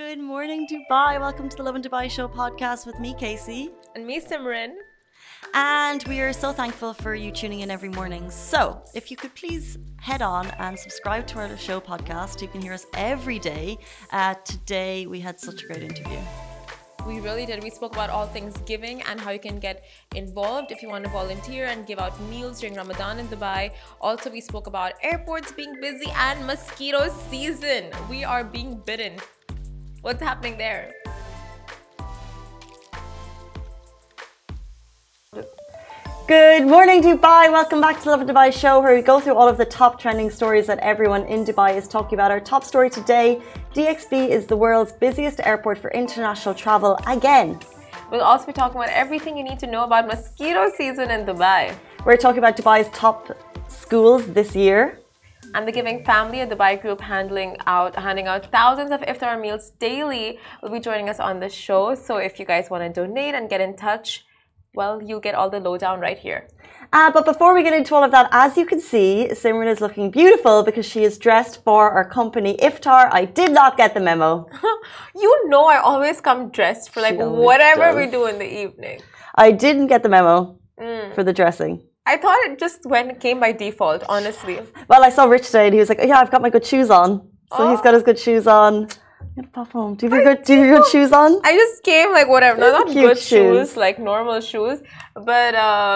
Good morning, Dubai. Welcome to the Love in Dubai Show podcast with me, Casey. And me, Simran. And we are so thankful for you tuning in every morning. So, if you could please head on and subscribe to our show podcast, you can hear us every day. Today, we had such a great interview. We really did. We spoke about all things giving and how you can get involved if you want to volunteer and give out meals during Ramadan in Dubai. Also, we spoke about airports being busy and mosquito season. We are being bitten. What's happening there? Good morning, Dubai. Welcome back to the Love in Dubai Show, where we go through all of the top trending stories that everyone in Dubai is talking about. Our top story today, DXB is the world's busiest airport for international travel again. We'll also be talking about everything you need to know about mosquito season in Dubai. We're talking about Dubai's top schools this year. And the Giving Family, a Dubai group handing out thousands of iftar meals daily, will be joining us on the show. So if you guys want to donate and get in touch, well, you'll get all the lowdown right here. But before we get into all of that, as you can see, Simran is looking beautiful because she is dressed for our company iftar. I did not get the memo. You know I always come dressed for whatever we do in the evening. I didn't get the memo for the dressing. I thought it just came by default, honestly. Well, I saw Rich today and he was like, oh, yeah, I've got my good shoes on. So he's got his good shoes on. I'm gonna pop home. Do you have your good shoes on? I just came whatever. No, not good shoes, like normal shoes. But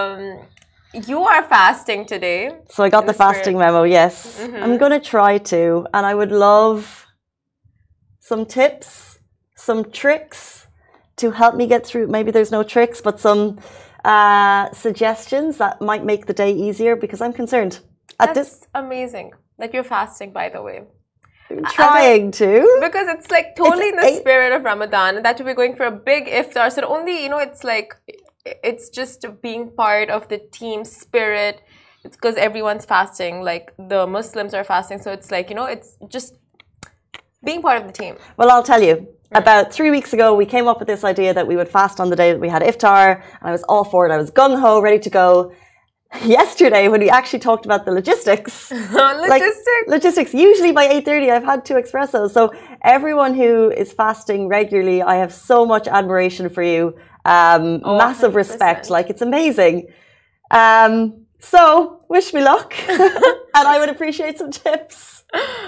you are fasting today. So I got the fasting memo, yes. I'm gonna try to. And I would love some tips, some tricks to help me get through. Maybe there's no tricks, but some suggestions that might make the day easier, because I'm concerned. That's amazing that you're fasting, by the way. I'm trying to. Because it's totally in the spirit of Ramadan, that we're going for a big iftar. So only, it's just being part of the team spirit. It's because everyone's fasting, the Muslims are fasting. So it's it's just being part of the team. Well, I'll tell you. About 3 weeks ago, we came up with this idea that we would fast on the day that we had iftar, and I was all for it. I was gung-ho, ready to go. Yesterday, when we actually talked about the logistics, usually by 8:30, I've had 2 espressos. So everyone who is fasting regularly, I have so much admiration for you. Massive 100%. Respect. It's amazing. So wish me luck, and I would appreciate some tips.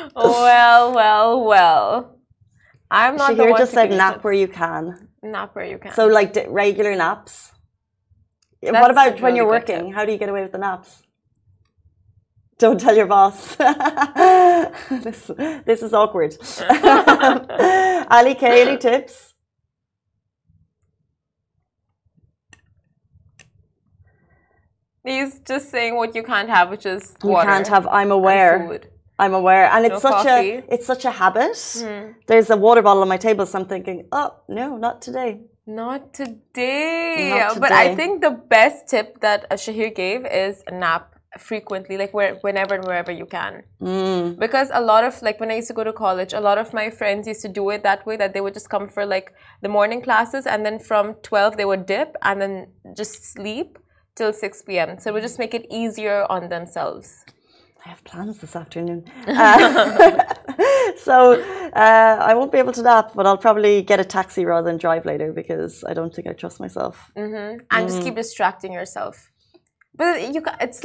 Well. I'm not the one just said nap where you can. Nap where you can. So regular naps. What about when you're working? How do you get away with the naps? Don't tell your boss. This is awkward. Ali K, any tips? He's just saying what you can't have, which is water. You can't have. I'm aware. Food. I'm aware, and it's No such a habit. There's a water bottle on my table, so I'm thinking, oh no, not today. Not today. Not today. But I think the best tip that Shahir gave is nap frequently, whenever and wherever you can. Because a lot of when I used to go to college, a lot of my friends used to do it that way, that they would just come for the morning classes, and then from 12 they would dip and then just sleep till 6 p.m. So it would just make it easier on themselves. I have plans this afternoon. So I won't be able to nap, but I'll probably get a taxi rather than drive later, because I don't think I trust myself. And just keep distracting yourself. But it's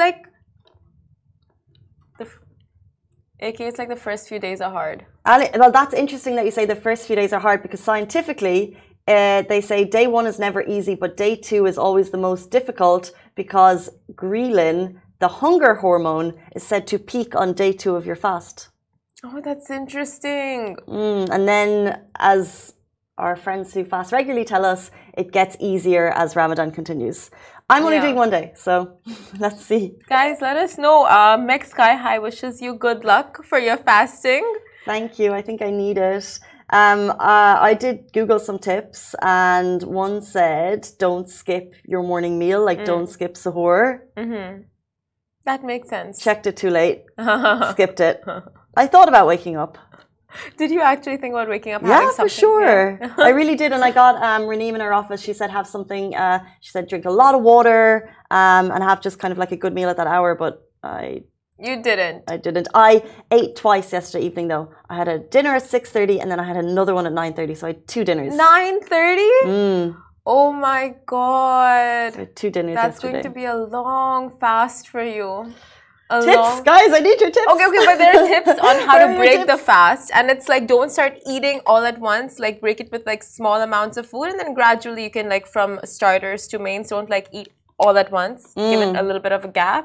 it's the first few days are hard. Ali, well, that's interesting that you say the first few days are hard, because scientifically they say day 1 is never easy, but day 2 is always the most difficult, because ghrelin, the hunger hormone, is said to peak on day 2 of your fast. Oh, that's interesting. And then, as our friends who fast regularly tell us, it gets easier as Ramadan continues. I'm only doing 1 day, so let's see. Guys, let us know. Meg Sky High wishes you good luck for your fasting. Thank you. I think I need it. I did Google some tips, and one said don't skip your morning meal, don't skip sahur. That makes sense. Checked it too late. Skipped it. I thought about waking up. Did you actually think about waking up? Yeah, for sure. Yeah. I really did. And I got Raneem in her office. She said have something. She said drink a lot of water and have just kind of a good meal at that hour. But I You didn't. I didn't. I ate twice yesterday evening though. I had a dinner at 6:30 and then I had another one at 9:30. So I had 2 dinners. 9:30? Oh my God. So I had 2 dinners That's yesterday. going to be a long fast for you. Guys, I need your tips. Okay, but there are tips on how to break the fast. And it's like, don't start eating all at once. Like, break it with like small amounts of food. And then gradually you can like from starters to mains, don't like eat all at once. Give it a little bit of a gap.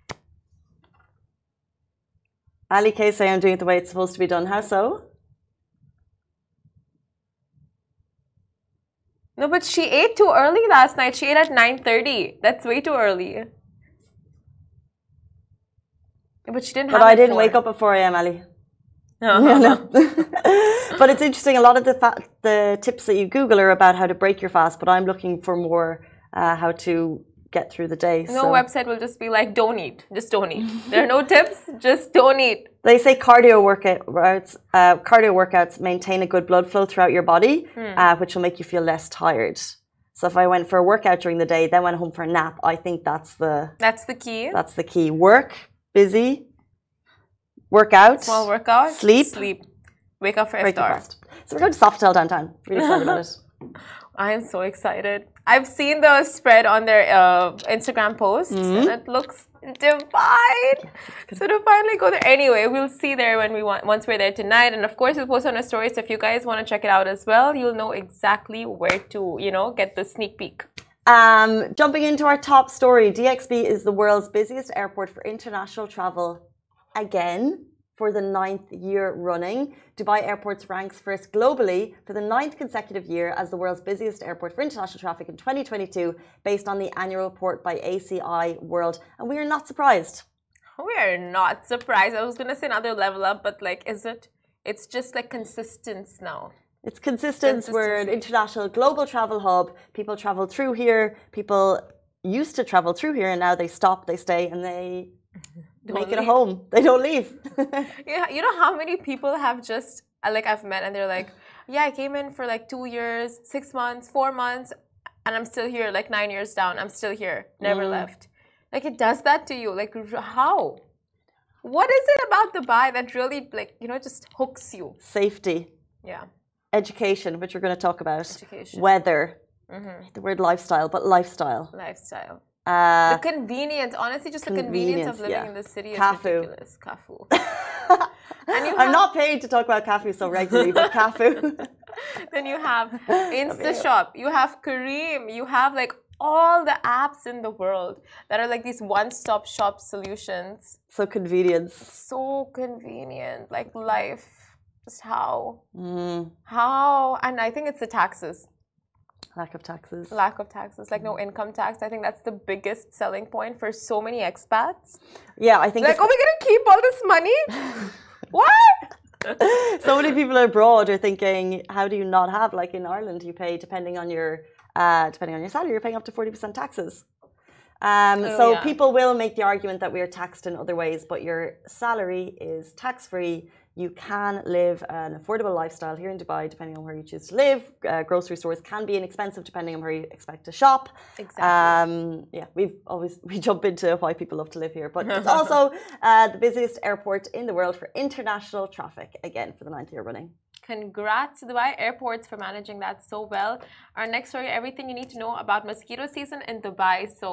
Ali K say I'm doing it the way it's supposed to be done. How so? No, but she ate too early last night. She ate at 9:30. That's way too early. But she didn't have. But I didn't wake up at 4 a.m. Ali. No. But it's interesting. A lot of the tips that you Google are about how to break your fast. But I'm looking for more how to get through the day. No website will just be like, don't eat. Just don't eat. There are no tips. Just don't eat. They say cardio workouts maintain a good blood flow throughout your body, which will make you feel less tired. So if I went for a workout during the day, then went home for a nap, I think that's the key. That's the key. Work, busy, workout, small workout, sleep, wake up for iftar. So we're going to Sofitel downtown. Really excited about it. I am so excited. I've seen the spread on their Instagram posts and it looks divine. So to finally go there. Anyway, we'll see there once we're there tonight. And of course, we'll post on our story. So if you guys want to check it out as well, you'll know exactly where to, get the sneak peek. Jumping into our top story, DXB is the world's busiest airport for international travel again. For the 9th year running, Dubai Airports ranks first globally for the 9th consecutive year as the world's busiest airport for international traffic in 2022, based on the annual report by ACI World. And we are not surprised. We are not surprised. I was going to say another level up, but like, is it? It's just like consistence now. It's consistent. We're an international global travel hub. People travel through here. People used to travel through here and now they stop, they stay, and they... make it a home. They don't leave. Yeah, you know how many people have just like I've met and they're like, yeah, I came in for like 2 years, 6 months, 4 months, and I'm still here. Like 9 years down, I'm still here. Never left. Like it does that to you. Like how? What is it about Dubai that really like just hooks you? Safety. Yeah. Education, which we're going to talk about. Education. Weather. The word lifestyle, but lifestyle. Lifestyle. The convenience, honestly, just the convenience of living in the city is ridiculous. Cafu. I'm not paid to talk about Cafu so regularly, but Cafu. Then you have InstaShop, you have Careem, you have like all the apps in the world that are like these one-stop shop solutions. So convenient. So convenient, like life. Just how? How? And I think it's the taxes. Lack of taxes. Lack of taxes, like no income tax. I think that's the biggest selling point for so many expats. Yeah, I think like, are we going to keep all this money? What? So many people abroad are thinking, how do you not have, like in Ireland, you pay depending on your salary, you're paying up to 40% taxes. People will make the argument that we are taxed in other ways, but your salary is tax-free. You can live an affordable lifestyle here in Dubai, depending on where you choose to live. Grocery stores can be inexpensive depending on where you expect to shop. Exactly. We jump into why people love to live here, but it's also the busiest airport in the world for international traffic, again, for the 9th year running. Congrats to Dubai Airports for managing that so well. Our next story, everything you need to know about mosquito season in Dubai. So,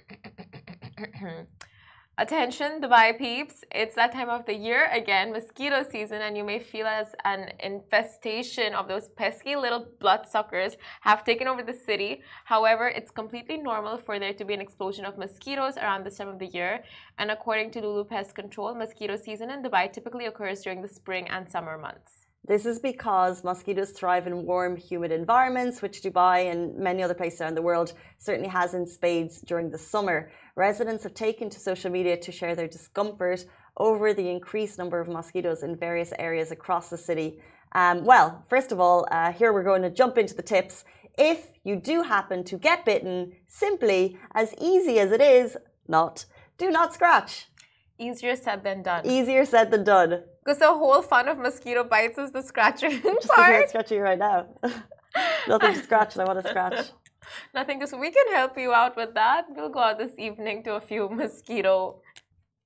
attention, Dubai peeps. It's that time of the year again, mosquito season, and you may feel as an infestation of those pesky little bloodsuckers have taken over the city. However, it's completely normal for there to be an explosion of mosquitoes around this time of the year. And according to Lulu Pest Control, mosquito season in Dubai typically occurs during the spring and summer months. This is because mosquitoes thrive in warm, humid environments, which Dubai and many other places around the world certainly has in spades during the summer. Residents have taken to social media to share their discomfort over the increased number of mosquitoes in various areas across the city. First of all, here we're going to jump into the tips. If you do happen to get bitten, simply, as easy as it is, do not scratch. Easier said than done. Easier said than done. Because the whole fun of mosquito bites is the scratching part. I'm scratching right now. Nothing to scratch, and I want to scratch. Nothing to. We can help you out with that. We'll go out this evening to a few mosquito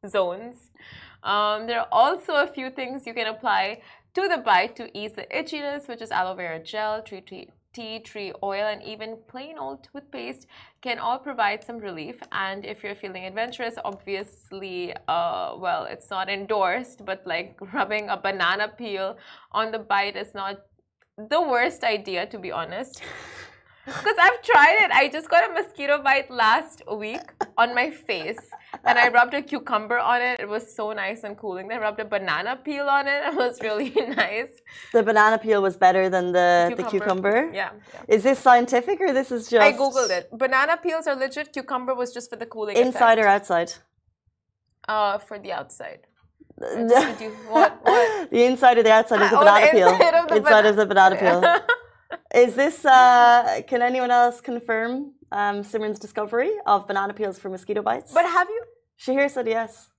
zones. There are also a few things you can apply to the bite to ease the itchiness, which is aloe vera gel, tea tree oil, and even plain old toothpaste can all provide some relief. And if you're feeling adventurous, obviously, well, it's not endorsed, but like rubbing a banana peel on the bite is not the worst idea, to be honest. Because I've tried it. I just got a mosquito bite last week on my face and I rubbed a cucumber on it. It was so nice and cooling. Then I rubbed a banana peel on it. It was really nice. The banana peel was better than the cucumber? Yeah. Is this scientific or this is just... I googled it. Banana peels are legit. Cucumber was just for the cooling Inside effect. or outside? For the outside. What? The inside or the outside of the banana peel? Inside of the banana peel. Is this, can anyone else confirm Simran's discovery of banana peels for mosquito bites? But have you? Shahir said yes.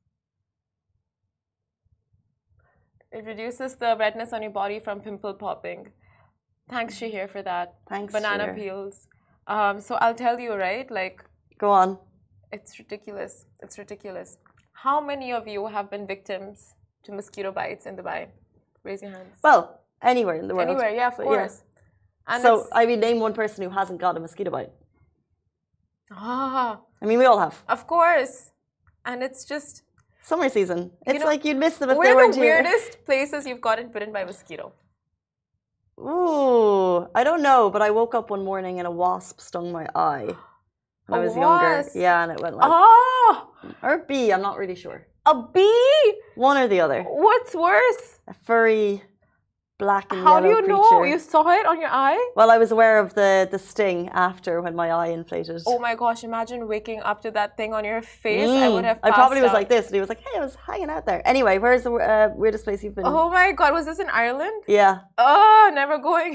It reduces the redness on your body from pimple popping. Thanks, Shahir, for that. Thanks, banana Shahir. Peels. So I'll tell you, right? Like, go on. It's ridiculous. It's ridiculous. How many of you have been victims to mosquito bites in Dubai? Raise your hands. Well, anywhere in the world. Anywhere, yeah, of course. Yeah. And so, I mean, name one person who hasn't got a mosquito bite. Ah. I mean, we all have. Of course. And it's just... Summer season. It's like you'd miss them if they weren't here. Where are the weirdest places you've gotten bitten by a mosquito? Ooh, I don't know, but I woke up one morning and a wasp stung my eye when I was younger. Yeah, and it went like... Oh! Or a bee, I'm not really sure. A bee? One or the other. What's worse? A furry... black and How yellow do you creature. know? You saw it on your eye? Well, I was aware of the sting after when my eye inflated. Oh my gosh, imagine waking up to that thing on your face. I would have passed I probably was out. like this and he was like, hey, I was hanging out there. Anyway, where's the weirdest place you've been? Oh my god, was this in Ireland? Yeah. Oh, never going.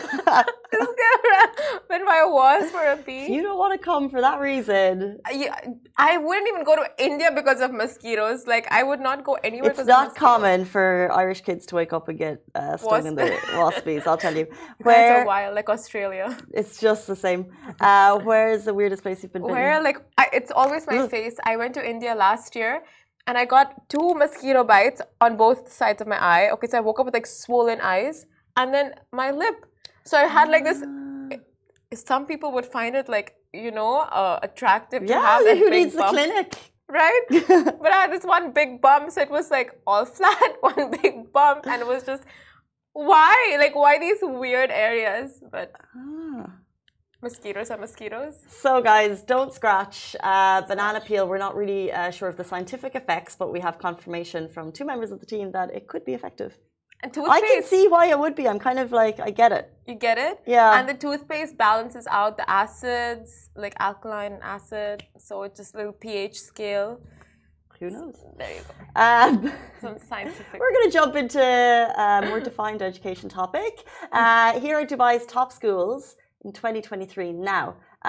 Been by a wasp or a bee. You don't want to come for that reason. Yeah, I wouldn't even go to India because of mosquitoes. Like, I would not go anywhere it's because not of mosquitoes. common for Irish kids to wake up and get stung in the waspies, I'll tell you. Where a while, like Australia. It's just the same. Where is the weirdest place you've been bitten? Where, like, it's always my face. I went to India last year and I got 2 mosquito bites on both sides of my eye. Okay, so I woke up with like swollen eyes and then my lip. So I had like this. Some people would find it like, you know, attractive to have that who big needs bump. the clinic? Right? But I had this one big bump, so it was like all flat, one big bump, and it was just, why? Like, why these weird areas? But mosquitoes are mosquitoes. So, guys, don't scratch. Banana peel, we're not really sure of the scientific effects, but we have confirmation from 2 members of the team that it could be effective. And toothpaste. I can see why it would be. I'm kind of like, I get it. You get it? Yeah. And the toothpaste balances out the acids, like alkaline and acid. So it's just a little pH scale. Who knows? There you go. Some scientific. We're going to jump into a more defined education topic. Here are Dubai's top schools in 2023 now.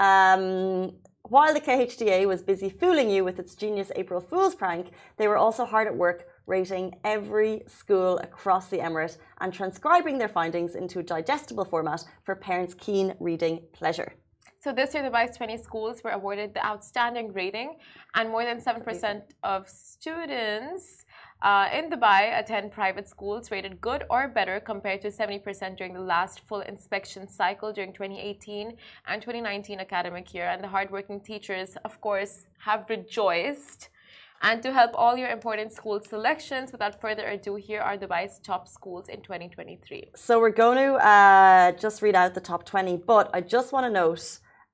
While the KHDA was busy fooling you with its genius April Fool's prank, they were also hard at work rating every school across the Emirate and transcribing their findings into a digestible format for parents' keen reading pleasure. So this year, Dubai's 20 schools were awarded the outstanding rating, and more than 7% of students in Dubai attend private schools rated good or better compared to 70% during the last full inspection cycle during 2018 and 2019 academic year. And the hardworking teachers, of course, have rejoiced. And to help all your important school selections, without further ado, here are Dubai's top schools in 2023. So we're going to just read out the top 20, but I just want to note,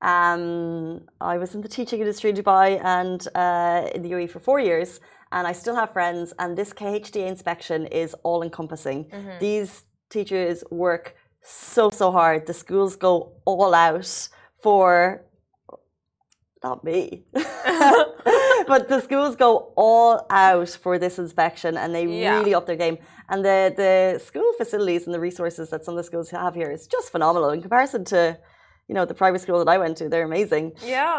I was in the teaching industry in Dubai and in the UAE for 4 years, and I still have friends, and this KHDA inspection is all-encompassing. These teachers work so hard. The schools go all out for... Not me. But the schools go all out for this inspection and they really up their game. And the school facilities and the resources that some of the schools have here is just phenomenal in comparison to, you know, the private school that I went to. They're amazing. Yeah.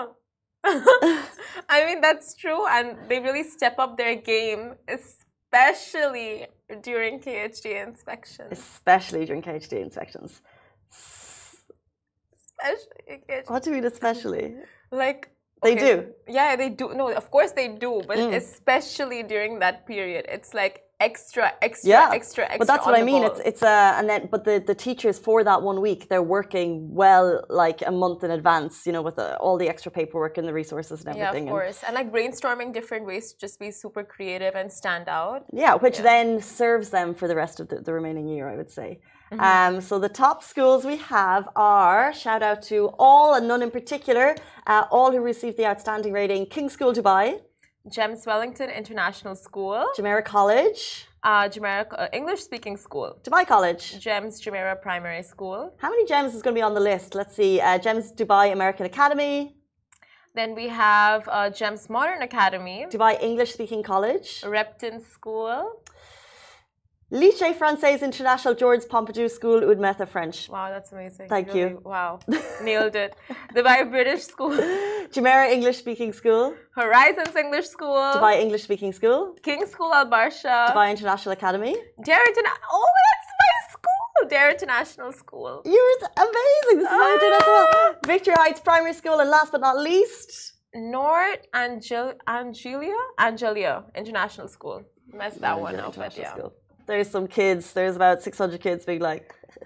I mean, that's true. And they really step up their game, especially during KHDA inspections. Especially during KHDA inspections. Especially KHDA. What do you mean especially? Like, They do. Yeah, they do. No, of course they do, but especially during that period, it's like extra. But that's what I mean. It's and then but the teachers for that 1 week, they're working well like a month in advance, you know, with all the extra paperwork and the resources and everything. Yeah, of course, and like brainstorming different ways to just be super creative and stand out. Yeah, which then serves them for the rest of the remaining year, I would say. So the top schools we have are, shout out to all and none in particular, all who received the outstanding rating: King's School Dubai, GEMS Wellington International School, Jumeirah College, Jumeirah English Speaking School, Dubai College, GEMS Jumeirah Primary School. How many GEMS is going to be on the list? Let's see. GEMS Dubai American Academy. Then we have GEMS Modern Academy, Dubai English Speaking College, Repton School, Lycée Français International Georges Pompidou School, Oud Metha French. Wow, that's amazing. Thank you. Wow, nailed it. Dubai British School, Jumeirah English Speaking School, Horizons English School, Dubai English Speaking School, King's School Al Barsha, Dubai International Academy, Darrington. Oh, that's my school, Darrington National School. You're amazing. This is what I did as well. Victory Heights Primary School, and last but not least, Nord Angelia International School. Messed that one up, but yeah. School. There's some kids. There's about 600 kids being like.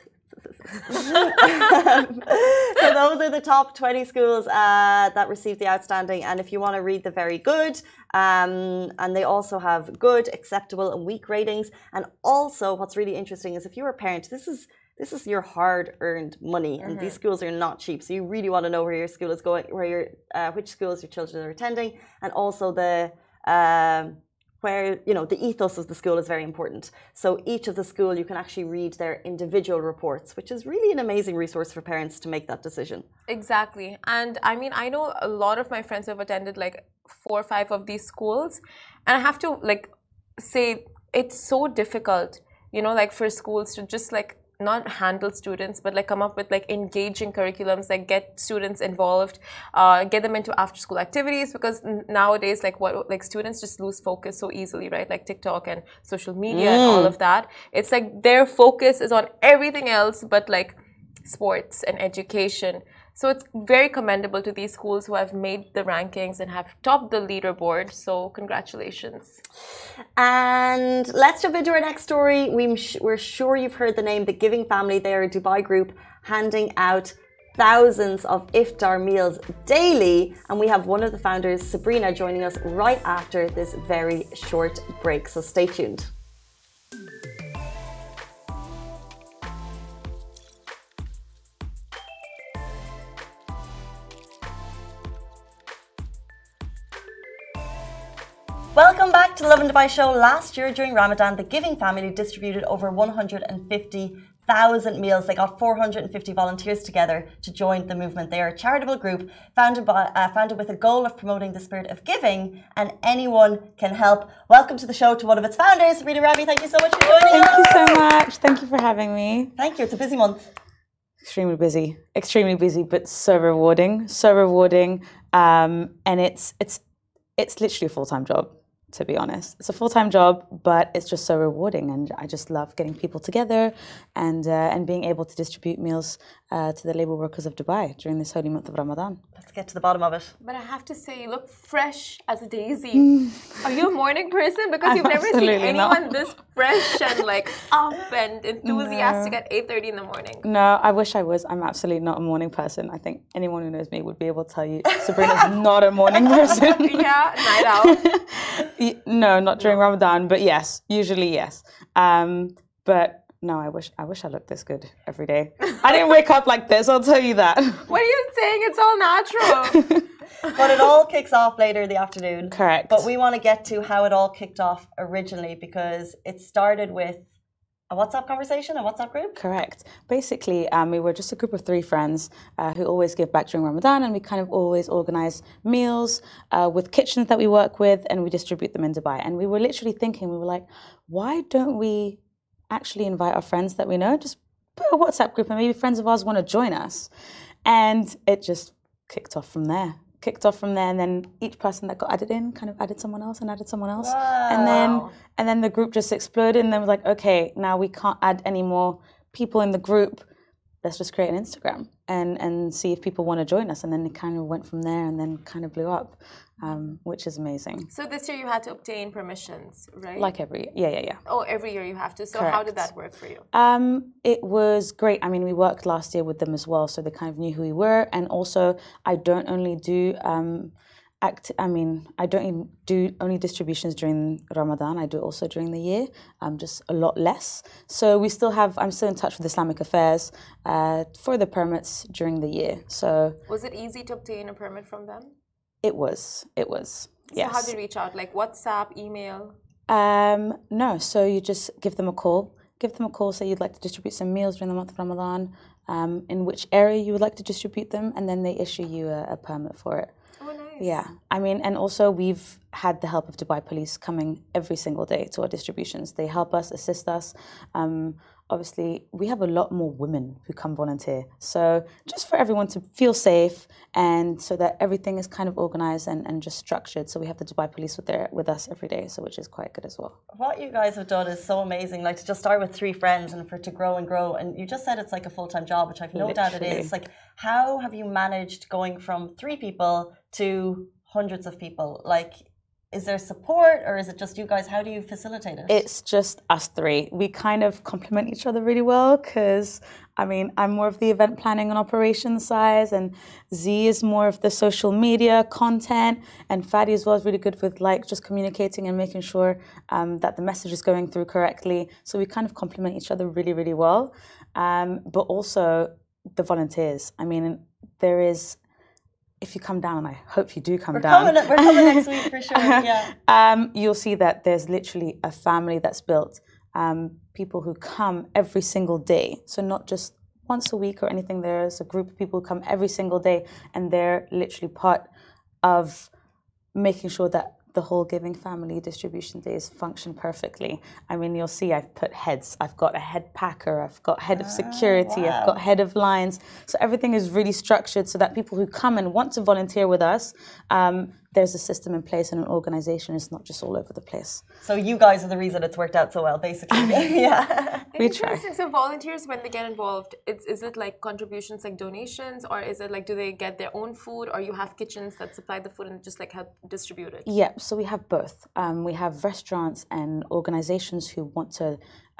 So those are the top 20 schools that received the outstanding. And if you want to read the very good, and they also have good, acceptable, and weak ratings. And also, what's really interesting is if you're a parent, this is your hard-earned money, and these schools are not cheap. So you really want to know where your school is going, which schools your children are attending, and also where, you know, the ethos of the school is very important. So each of the school, you can actually read their individual reports, which is really an amazing resource for parents to make that decision. Exactly. And I mean, I know a lot of my friends who have attended like 4 or 5 of these schools, and I have to like say it's so difficult, you know, like for schools to just like not handle students, but like come up with like engaging curriculums, like get students involved, get them into after school activities, because nowadays like students just lose focus so easily, right? Like TikTok and social media and all of that. It's like their focus is on everything else but like sports and education. So it's very commendable to these schools who have made the rankings and have topped the leaderboard. So congratulations. And let's jump into our next story. We're sure you've heard the name, The Giving Family. They are a Dubai group handing out thousands of iftar meals daily. And we have one of the founders, Sabrina, joining us right after this very short break. So stay tuned. Welcome back to the Lovin Dubai show. Last year during Ramadan, the Giving Family distributed over 150,000 meals. They got 450 volunteers together to join the movement. They are a charitable group founded with a goal of promoting the spirit of giving, and anyone can help. Welcome to the show to one of its founders, Rita Rabi. Thank you so much for joining us. Thank you so much. Thank you for having me. Thank you. It's a busy month. Extremely busy, but so rewarding. And it's literally a full-time job, to be honest. It's a full-time job, but it's just so rewarding, and I just love getting people together and being able to distribute meals to the labour workers of Dubai during this holy month of Ramadan. Let's get to the bottom of it. But I have to say, you look fresh as a daisy. Are you a morning person? Because you've never seen anyone this fresh and like up and enthusiastic at 8:30 in the morning. No, I wish I was. I'm absolutely not a morning person. I think anyone who knows me would be able to tell you Sabrina's not a morning person. Yeah, night out. No, not during Ramadan, but yes, usually yes. But no, I wish I looked this good every day. I didn't wake up like this, I'll tell you that. What are you saying? It's all natural. But it all kicks off later in the afternoon. Correct. But we want to get to how it all kicked off originally, because it started with a WhatsApp conversation, a WhatsApp group? Correct. Basically, we were just a group of 3 friends who always give back during Ramadan, and we kind of always organize meals with kitchens that we work with, and we distribute them in Dubai. And we were literally thinking, we were like, why don't we actually invite our friends that we know, just put a WhatsApp group, and maybe friends of ours want to join us. And it just kicked off from there. And then each person that got added in kind of added someone else and added someone else. Wow. And then the group just exploded, and then we're like, okay, now we can't add any more people in the group. Let's just create an Instagram. and see if people want to join us. And then it kind of went from there and then kind of blew up, which is amazing. So this year you had to obtain permissions, right? Like yeah. Oh, every year you have to. So Correct. how did that work for you? It was great. I mean, we worked last year with them as well, so they kind of knew who we were. And also, I don't only do I don't even do only distributions during Ramadan. I do also during the year, just a lot less. So I'm still in touch with Islamic Affairs for the permits during the year. So was it easy to obtain a permit from them? It was. Yes. So how did you reach out? Like WhatsApp, email? No. So you just give them a call. Say you'd like to distribute some meals during the month of Ramadan, in which area you would like to distribute them, and then they issue you a permit for it. Oh, nice. Yeah. I mean, and also we've had the help of Dubai Police coming every single day to our distributions. They help us, assist us. Obviously, we have a lot more women who come volunteer. So just for everyone to feel safe and so that everything is kind of organized and just structured. So we have the Dubai Police with us every day, so which is quite good as well. What you guys have done is so amazing. Like to just start with 3 friends and for it to grow and grow. And you just said it's like a full-time job, which I've no doubt it is. Like, how have you managed going from 3 people to hundreds of people? Like, is there support or is it just you guys? How do you facilitate it? It's just us 3. We kind of complement each other really well because, I mean, I'm more of the event planning and operations side, and Z is more of the social media content, and Fadi as well is really good with like just communicating and making sure that the message is going through correctly. So we kind of complement each other really, really well. But also the volunteers. I mean, there is... If you come down, and I hope you do come down. We're coming next week for sure, yeah. You'll see that there's literally a family that's built. People who come every single day. So not just once a week or anything. There's a group of people who come every single day, and they're literally part of making sure that the whole Giving Family distribution days function perfectly. I mean, you'll see I've put heads. I've got a head packer. I've got head of security. Wow. I've got head of lines. So everything is really structured so that people who come and want to volunteer with us, there's a system in place and an organization. It's not just all over the place. So you guys are the reason it's worked out so well, basically. Yeah. We try. So volunteers, when they get involved, is it like contributions, like donations, or is it like do they get their own food, or you have kitchens that supply the food and just like help distribute it? Yeah, so we have both. We have restaurants and organizations who want to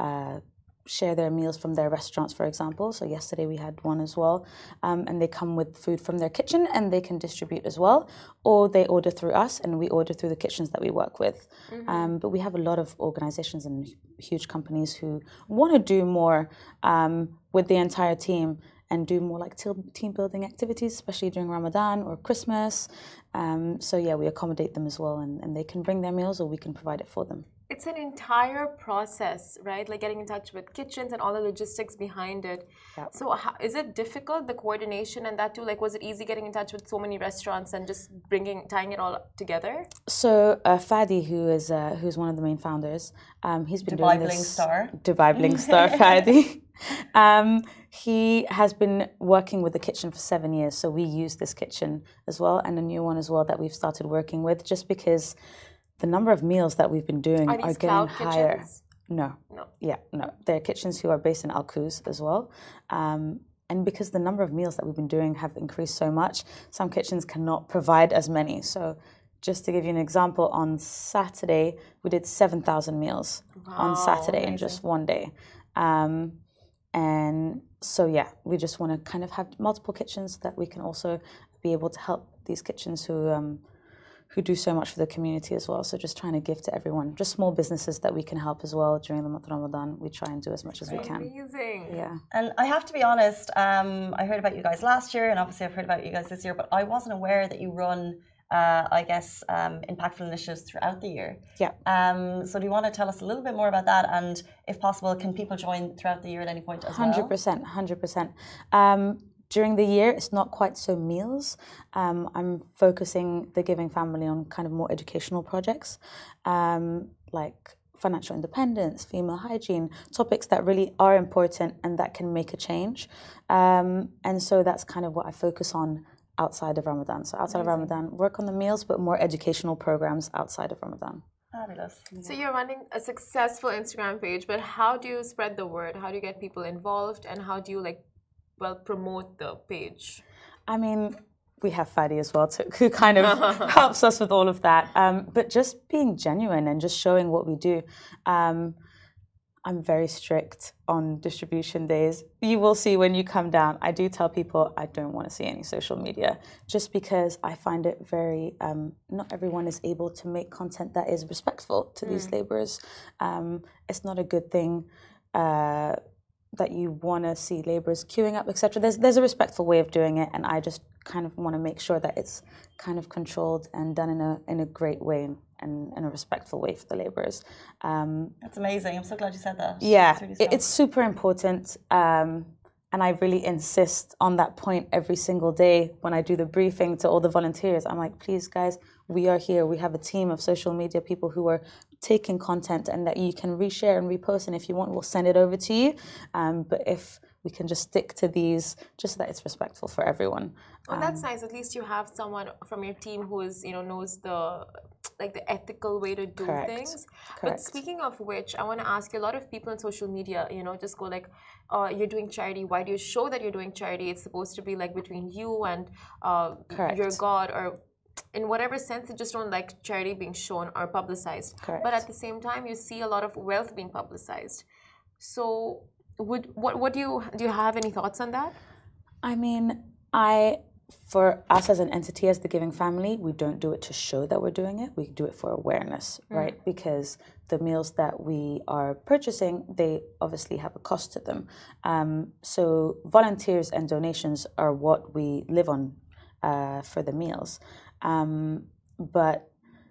share their meals from their restaurants, for example. So yesterday we had one as well, and they come with food from their kitchen and they can distribute as well, or they order through us and we order through the kitchens that we work with. But we have a lot of organizations and huge companies who want to do more with the entire team and do more like team building activities, especially during Ramadan or Christmas. So yeah, we accommodate them as well, and they can bring their meals or we can provide it for them. It's an entire process, right? Like getting in touch with kitchens and all the logistics behind it. Yep. So is it difficult, the coordination and that too? Like, was it easy getting in touch with so many restaurants and just tying it all together? So Fadi, who's one of the main founders, he's been Dubai doing Bling this. Star. Dubai Bling Star, Fadi. He has been working with the kitchen for 7 years, so we use this kitchen as well, and a new one as well that we've started working with, just because the number of meals that we've been doing are getting higher. Kitchens? No. Yeah, no. They're kitchens who are based in Al Quoz as well. And because the number of meals that we've been doing have increased so much, some kitchens cannot provide as many. So just to give you an example, on Saturday, we did 7,000 meals on Saturday in just one day. And so, yeah, we just want to kind of have multiple kitchens that we can also be able to help these kitchens who do so much for the community as well. So just trying to give to everyone, just small businesses that we can help as well during the month of Ramadan. We try and do as much as we can. Amazing. Yeah. And I have to be honest, I heard about you guys last year, and obviously I've heard about you guys this year, but I wasn't aware that you run, impactful initiatives throughout the year. Yeah. So do you want to tell us a little bit more about that? And if possible, can people join throughout the year at any point as well? 100%. During the year, it's not quite so meals. I'm focusing the Giving Family on kind of more educational projects, like financial independence, female hygiene, topics that really are important and that can make a change. And so that's kind of what I focus on outside of Ramadan. So outside of Ramadan, work on the meals, but more educational programs outside of Ramadan. Fabulous. So you're running a successful Instagram page, but how do you spread the word? How do you get people involved? And how do you promote the page? I mean, we have Fadi as well, who kind of helps us with all of that. But just being genuine and just showing what we do. I'm very strict on distribution days. You will see when you come down, I do tell people I don't want to see any social media just because I find it very, not everyone is able to make content that is respectful to these laborers. It's not a good thing that you want to see laborers queuing up, etc. There's a respectful way of doing it, and I just kind of want to make sure that it's kind of controlled and done in a great way and in a respectful way for the laborers. That's amazing. I'm so glad you said that. Yeah, it's super important. And I really insist on that point every single day when I do the briefing to all the volunteers. I'm like, please, guys, we are here. We have a team of social media people who are taking content and that you can reshare and repost. And if you want, we'll send it over to you. But if we can just stick to these, just so that it's respectful for everyone. Oh, that's nice. At least you have someone from your team who is, knows the ethical way to do things. But speaking of which, I want to ask you, a lot of people on social media, just go like, you're doing charity. Why do you show that you're doing charity? It's supposed to be like between you and your God, or in whatever sense, they just don't like charity being shown or publicized. But at the same time, you see a lot of wealth being publicized. So what do you have any thoughts on that? I mean, for us as an entity, as the Giving Family, we don't do it to show that we're doing it. We do it for awareness, right? Because the meals that we are purchasing, they obviously have a cost to them. So volunteers and donations are what we live on for the meals. But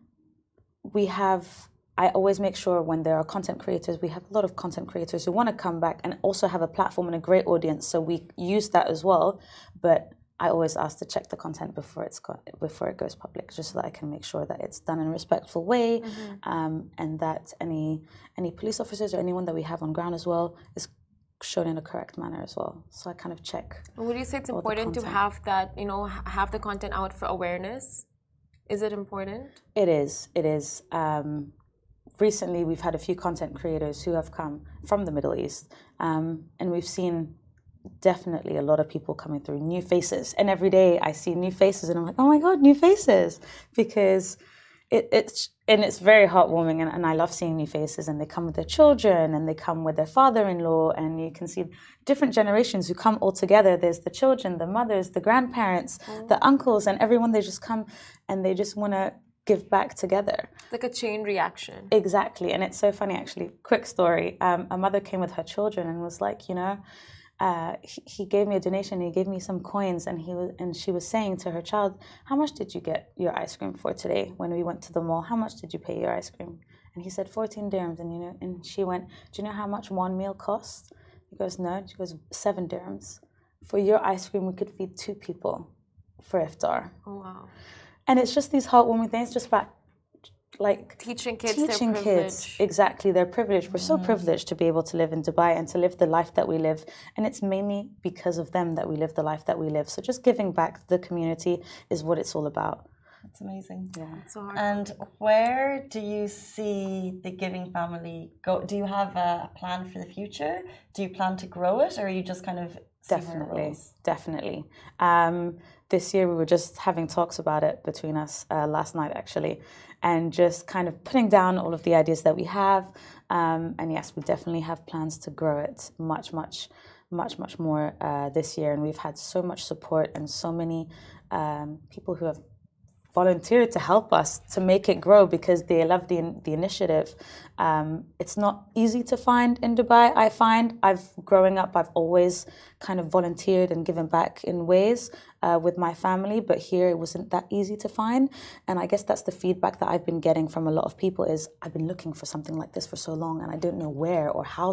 I always make sure when there are content creators, we have a lot of content creators who want to come back and also have a platform and a great audience. So we use that as well. But I always ask to check the content before it goes public, just so that I can make sure that it's done in a respectful way, and that any police officers or anyone that we have on ground as well is shown in a correct manner as well. So I kind of check. Would you say it's important to have that, have the content out for awareness? Is it important? It is. It is. Recently, we've had a few content creators who have come from the Middle East, and we've seen definitely a lot of people coming through, new faces. And every day I see new faces and I'm like, oh my God, new faces. Because it's very heartwarming, and I love seeing new faces, and they come with their children and they come with their father-in-law, and you can see different generations who come all together. There's the children, the mothers, the grandparents, the uncles, and everyone. They just come and they just want to give back together. Like a chain reaction. Exactly. And it's so funny, actually. Quick story. A mother came with her children and was like, he gave me a donation. He gave me some coins, and she was saying to her child, "How much did you get your ice cream for today when we went to the mall? How much did you pay your ice cream?" And he said 14 dirhams. And she went, "Do you know how much one meal costs?" He goes, "No." She goes, 7 dirhams. For your ice cream, we could feed 2 people for iftar. Oh, wow. And it's just these heartwarming things, just about like teaching kids exactly their privilege. We're so privileged to be able to live in Dubai and to live the life that we live, and it's mainly because of them that we live the life that we live. So just giving back to the community is what it's all about. That's amazing. Yeah. So hard. And where do you see the Giving Family go? Do you have a plan for the future? Do you plan to grow it, or are you just kind of Definitely. This year we were just having talks about it between us last night, actually, and just kind of putting down all of the ideas that we have. And yes, we definitely have plans to grow it much more this year. And we've had so much support and so many people who have volunteered to help us to make it grow because they love the initiative. It's not easy to find in Dubai. I find growing up, I've always kind of volunteered and given back in ways with my family, but here it wasn't that easy to find. And I guess that's the feedback that I've been getting from a lot of people is I've been looking for something like this for so long, and I don't know where or how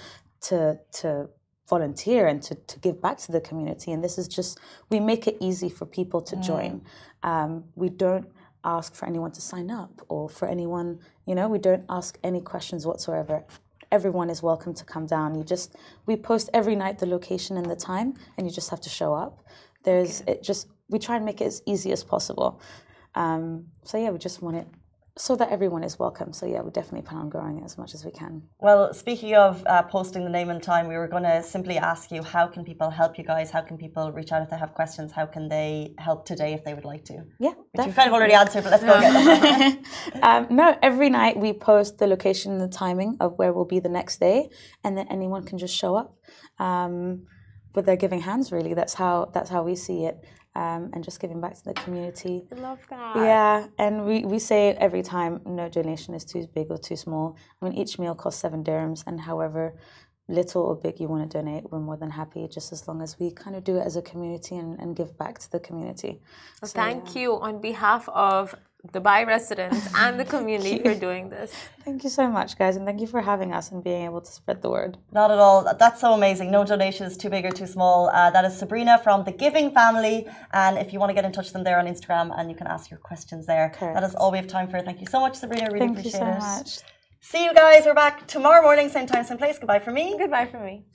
to volunteer and to give back to the community. And this is just, we make it easy for people to join. We don't ask for anyone to sign up or for anyone, we don't ask any questions whatsoever. Everyone is welcome to come down. We post every night the location and the time, and you just have to show up. We try and make it as easy as possible. So yeah, we just want it so that everyone is welcome. So yeah, we definitely plan on growing it as much as we can. Well, speaking of posting the name and time, we were going to simply ask you, how can people help you guys? How can people reach out if they have questions? How can they help today if they would like to? Yeah, which you've kind of already answered, but let's go again. No, every night we post the location and the timing of where we'll be the next day, and then anyone can just show up with their giving hands. Really, that's how we see it. And just giving back to the community. I love that. Yeah, and we say it every time, no donation is too big or too small. I mean, each meal costs 7 dirhams, and however little or big you want to donate, we're more than happy, just as long as we kind of do it as a community and give back to the community. Well, thank you on behalf of Dubai residents and the community for doing this. Thank you so much, guys, and thank you for having us and being able to spread the word. Not at all. That's so amazing. No donation is too big or too small. That is Sabrina from the Giving Family, and if you want to get in touch with them, they're on Instagram, and you can ask your questions there. Correct. That is all we have time for. Thank you so much, Sabrina. Really appreciate it. Thank you so much. See you guys. We're back tomorrow morning, same time, same place. Goodbye from me. Goodbye from me.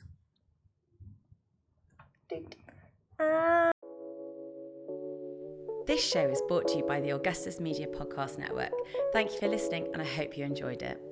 This show is brought to you by the Augustus Media Podcast Network. Thank you for listening, and I hope you enjoyed it.